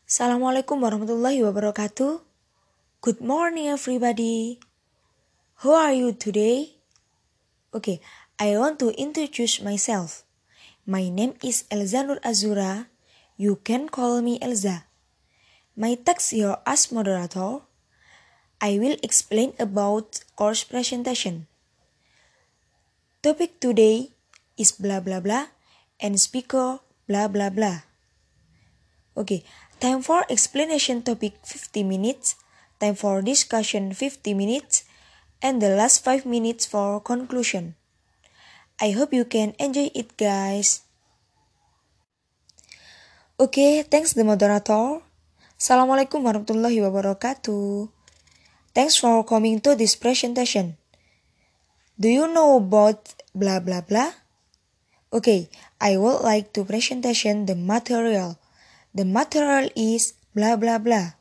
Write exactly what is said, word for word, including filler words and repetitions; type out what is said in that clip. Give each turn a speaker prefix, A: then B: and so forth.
A: Assalamualaikum warahmatullahi wabarakatuh. Good morning everybody. How are you today? Okay, I want to introduce myself. My name is Elza Nur Azura. You can call me Elza. My task here as moderator. I will explain about course presentation. Topic today is blah blah blah and speaker blah blah blah. Okay, time for explanation topic fifty minutes, time for discussion fifty minutes, and the last five minutes for conclusion. I hope you can enjoy it guys. Okay, thanks the moderator. Assalamualaikum warahmatullahi wabarakatuh. Thanks for coming to this presentation. Do you know about blah blah blah? Okay, I would like to presentation the material. The material is blah blah blah.